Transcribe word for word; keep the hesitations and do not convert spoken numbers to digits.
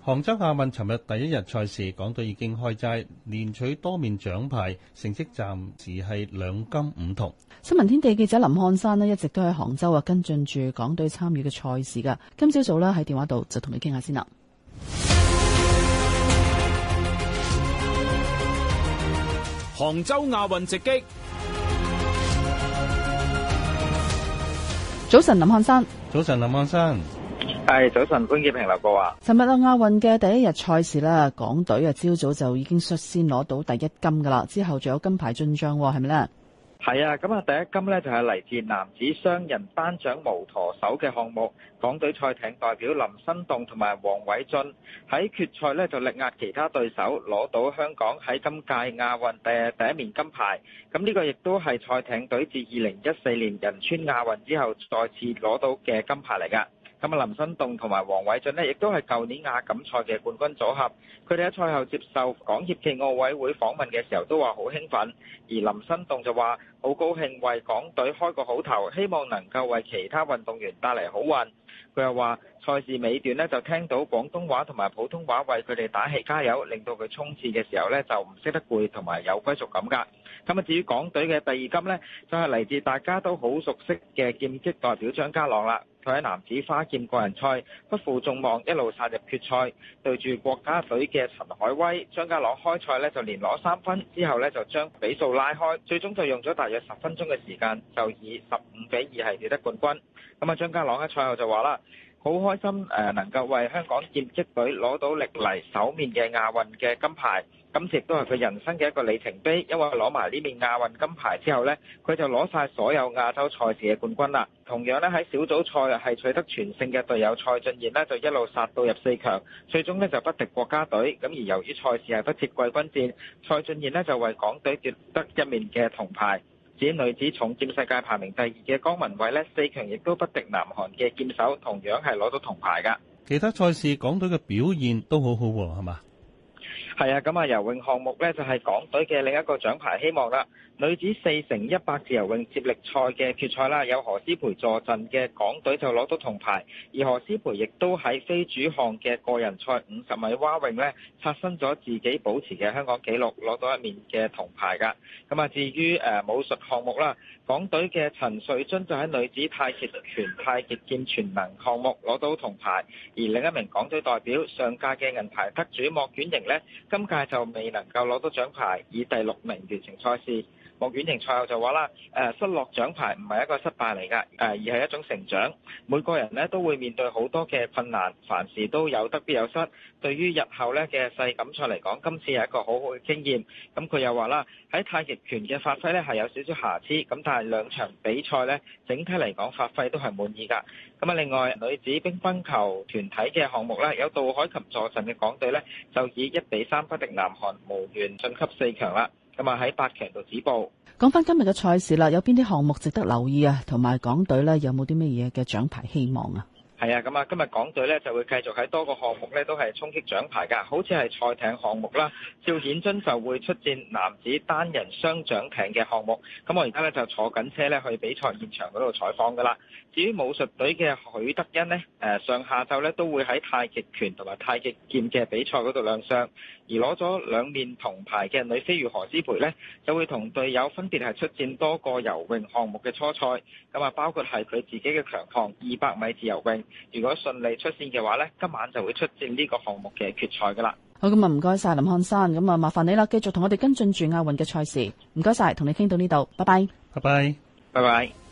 杭州亞運尋日第一日賽事，港隊已經開齋，連取多面獎牌，成績暫時係兩金五銅。 新聞天地記者林漢山咧一直都喺杭州啊跟進住港隊參與嘅賽事噶。今朝早咧喺電話度就同你傾下先啦。 杭州亞運直擊。 早晨，林漢山。 早晨，林漢山。 係早晨，潘潔平劉國華。 尋日啊亞運嘅第一日賽事啦，港隊啊朝早就已經率先攞到第一金噶啦，之後仲有金牌進賬，係咪呢？ 係啊，咁啊第一金呢就係嚟自男子雙人單槳無舵手嘅項目，港隊賽艇代表林新棟同埋黃偉俊喺決賽呢就力壓其他對手，攞到香港喺今屆亞運嘅第一面金牌。咁呢個亦都係賽艇隊自二零一四年仁川亞運之後再次攞到嘅金牌嚟㗎。咁啊，林新棟同埋黃偉俊呢，亦都係舊年亞錦賽嘅冠軍組合。佢哋喺賽後接受港協暨奧委會訪問嘅時候，都話好興奮。而林新棟就話好高興為港隊開個好頭，希望能夠為其他運動員帶嚟好運。佢又話賽事尾段呢，就聽到廣東話同埋普通話為佢哋打氣加油，令到佢衝刺嘅時候呢，就唔識得攰同埋有歸屬感㗎。咁啊，至於港隊嘅第二金呢，就係嚟自大家都好熟悉嘅劍擊代表張家朗啦。佢喺男子花劍個人賽不負眾望，一路殺入決賽，對住國家隊嘅陳海威。張家朗開賽呢就連攞三分，之後呢就將比數拉開，最終就用咗大約十分鐘嘅時間，就以十五比二係奪得冠軍。咁啊，張家朗喺賽後就話啦，好開心誒能夠為香港劍擊隊攞到歷嚟首面嘅亞運嘅金牌。今次亦都係佢人生嘅一個里程碑，因為攞埋呢面亞運金牌之後呢，佢就攞晒所有亞洲賽事嘅冠軍啦。同樣呢，喺小組賽係取得全勝嘅隊友蔡俊彥呢，就一路殺到入四強，最終呢就不敵國家隊。咁而由於賽事係不設季軍戰，蔡俊彥呢就為港隊奪得一面嘅銅牌。至於女子重劍世界排名第二嘅江文蔚呢，四強亦都不敵南韓嘅劍手，同樣係攞到銅牌㗎。 其他賽事港隊嘅表現都好好喎，係嘛？ 係啊，咁啊游泳項目呢就係港隊嘅另一個獎牌希望啦。女子四乘一百自由泳接力賽嘅決賽啦，有何詩蓓坐鎮嘅港隊就攞到銅牌，而何詩蓓亦都喺非主項嘅個人賽五十米蛙泳呢刷新咗自己保持嘅香港紀錄，攞到一面嘅銅牌㗎。咁啊，至於誒武術項目啦，港隊嘅陳瑞津就喺女子太極拳、太極劍全能項目攞到銅牌，而另一名港隊代表上屆嘅銀牌得主莫婉瑩呢，今屆就未能夠攞到獎牌，以第六名完成賽事。莫婉瑩賽後就話啦，誒失落獎牌唔係一個失敗嚟㗎，誒而係一種成長。每個人呢都會面對好多嘅困難，凡事都有得必有失。對於日後呢嘅世錦賽嚟講，今次係一個好好嘅經驗。咁佢又話啦，喺太極拳嘅發揮呢係有少少瑕疵，咁但係兩場比賽呢整體嚟講發揮都係滿意㗎。咁啊，另外女子乒乓球團體嘅項目呢，有杜凱琹坐鎮嘅港隊呢，就以一比三不敵南韓，無緣晉級四強啦。咁啊喺八強度止步。 講翻今日嘅賽事啦，有邊啲項目值得留意啊？同埋港隊呢，有冇啲乜嘢嘅獎牌希望啊？ 係啊，咁啊，今日港隊呢就會繼續喺多個項目呢都係衝擊獎牌㗎，好似係賽艇項目啦，趙顯津就會出戰男子單人雙槳艇嘅項目。咁我而家呢就坐緊車呢去比賽現場嗰度採訪㗎啦。至於武術隊嘅許德恩呢，誒上下晝呢都會喺太極拳同埋太極劍嘅比賽嗰度亮相。而攞咗兩面銅牌嘅女飛魚何詩蓓呢，就會同隊友分別係出戰多個游泳項目嘅初賽。咁啊，包括係佢自己嘅強項二百米自由泳。如果順利出線嘅話呢，今晚就會出戰呢個項目嘅決賽噶啦。 好，咁啊，唔該晒林漢山，咁啊麻煩你啦，繼續同我哋跟進住亞運嘅賽事。唔該晒，同你傾到呢度，拜拜， 拜拜， 拜拜。